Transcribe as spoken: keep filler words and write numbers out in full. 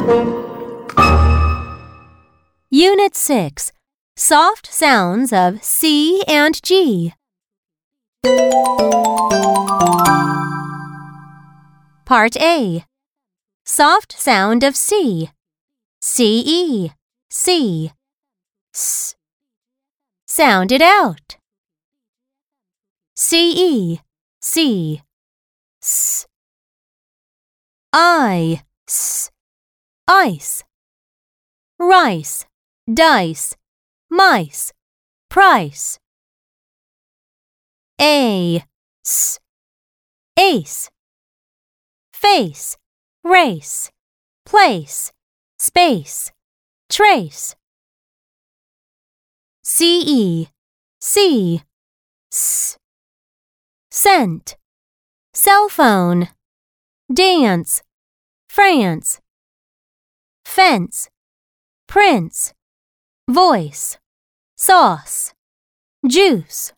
Unit six. Soft sounds of C and G. Part A. Soft sound of C. C-E, C. S. Sound it out. C-E, C. S. I, S. Ice. Rice, dice, mice, price. A, S. Ace. Face, race, place, space, trace. C-E, C. S. Scent, cell phone, dance, France. Fence, prince, voice, sauce, juice.